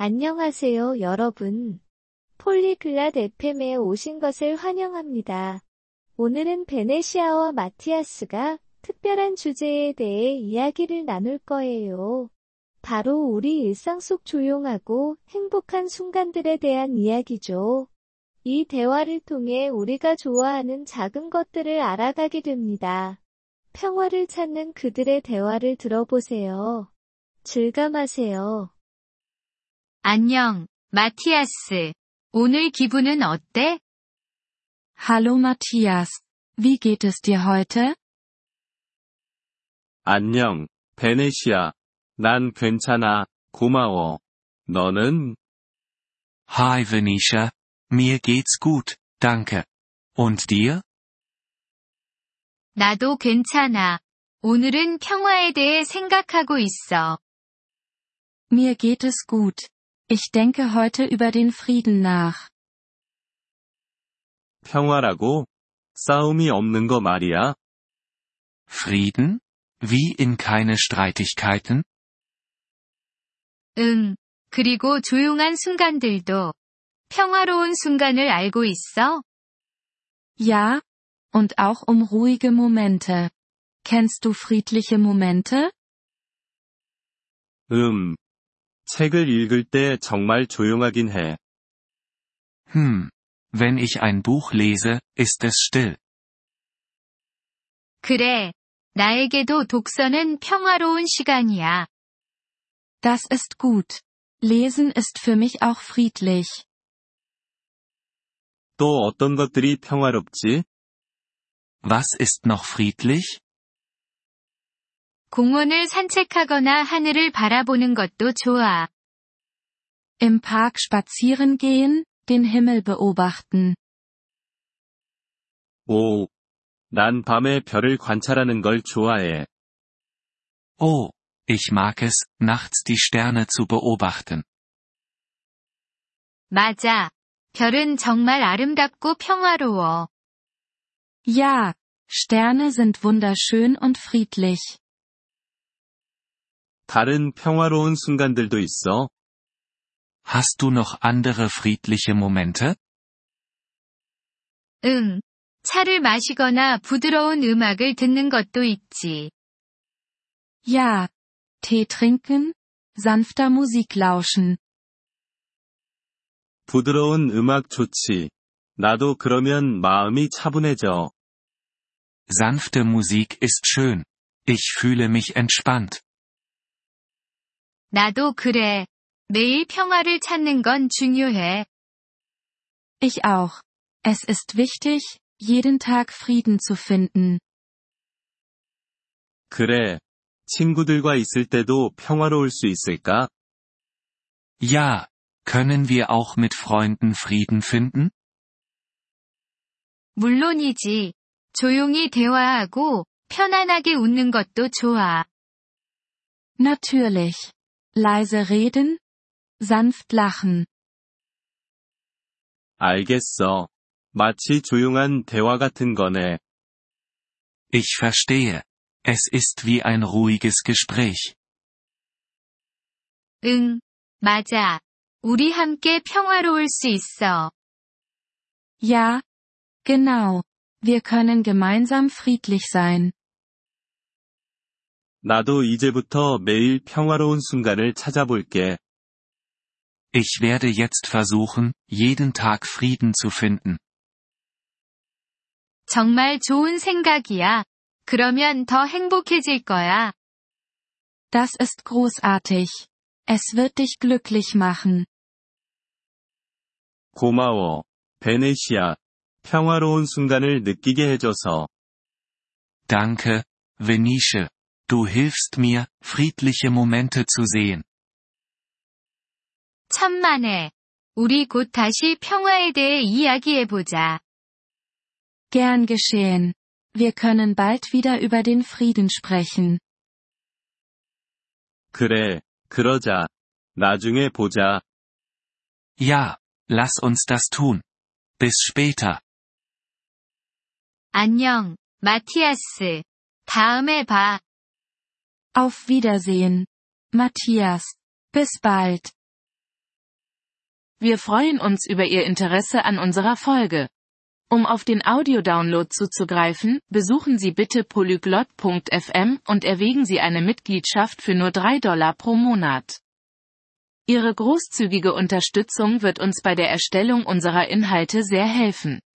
안녕하세요, 여러분. 폴리글랏 FM에 오신 것을 환영합니다. 오늘은 베네시아와 마티아스가 특별한 주제에 대해 이야기를 나눌 거예요. 바로 우리 일상 속 조용하고 행복한 순간들에 대한 이야기죠. 이 대화를 통해 우리가 좋아하는 작은 것들을 알아가게 됩니다. 평화를 찾는 그들의 대화를 들어보세요. 즐감하세요. 안녕, 마티아스. 오늘 기분은 어때? Hallo Matthias, wie geht es dir heute? 안녕, 베네시아. 난 괜찮아, 고마워. 너는? Hi Venetia, mir geht's gut, danke. Und dir? 나도 괜찮아. 오늘은 평화에 대해 생각하고 있어. Mir geht es gut. Ich denke heute über den Frieden nach. 평화라고? 싸움이 없는 거 말이야? Frieden? Wie in keine Streitigkeiten? 응. 그리고 조용한 순간들도. 평화로운 순간을 알고 있어? Ja, und auch ruhige Momente. Kennst du friedliche Momente? 책을 읽을 때 정말 조용하긴 해. Wenn ich ein Buch lese, ist es still. 그래. 나에게도 독서는 평화로운 시간이야. Das ist gut. Lesen ist für mich auch friedlich. 또 어떤 것들이 평화롭지? Was ist noch friedlich? 공원을 산책하거나 하늘을 바라보는 것도 좋아. Im Park spazieren gehen, den Himmel beobachten. 오, 난 밤에 별을 관찰하는 걸 좋아해. Oh, ich mag es, nachts die Sterne zu beobachten. 맞아. 별은 정말 아름답고 평화로워. Ja, Sterne sind wunderschön und friedlich. 다른 평화로운 순간들도 있어? Hast du noch andere friedliche Momente? 응. 차를 마시거나 부드러운 음악을 듣는 것도 있지. Ja. Tee trinken, sanfter Musik lauschen. 부드러운 음악 좋지. 나도 그러면 마음이 차분해져. Sanfte Musik ist schön. Ich fühle mich entspannt. 나도 그래. 매일 평화를 찾는 건 중요해. Ich auch. Es ist wichtig, jeden Tag Frieden zu finden. 그래. 친구들과 있을 때도 평화로울 수 있을까? Ja, können wir auch mit Freunden Frieden finden? 물론이지. 조용히 대화하고 편안하게 웃는 것도 좋아. Natürlich. Leise reden, sanft lachen. 알겠어. 마치 조용한 대화 같은 거네. Ich verstehe. Es ist wie ein ruhiges Gespräch. 응, 맞아. 우리 함께 평화로울 수 있어. Ja. Genau. Wir können gemeinsam friedlich sein. 나도 이제부터 매일 평화로운 순간을 찾아볼게. Ich werde jetzt versuchen, jeden Tag Frieden zu finden. 정말 좋은 생각이야. 그러면 더 행복해질 거야. Das ist großartig. Es wird dich glücklich machen. 고마워, 베네시아. 평화로운 순간을 느끼게 해줘서. Danke, Venetia. Du hilfst mir, friedliche Momente zu sehen. 천만에. 우리 곧 다시 평화에 대해 이야기해보자. Gern geschehen. Wir können bald wieder über den Frieden sprechen. 그래, 그러자. 나중에 보자. Ja, lass uns das tun. Bis später. 안녕, 마티아스. 다음에 봐. Auf Wiedersehen. Matthias. Bis bald. Wir freuen uns über Ihr Interesse an unserer Folge. Um auf den Audiodownload zuzugreifen, besuchen Sie bitte polyglot.fm und erwägen Sie eine Mitgliedschaft für nur $3 pro Monat. Ihre großzügige Unterstützung wird uns bei der Erstellung unserer Inhalte sehr helfen.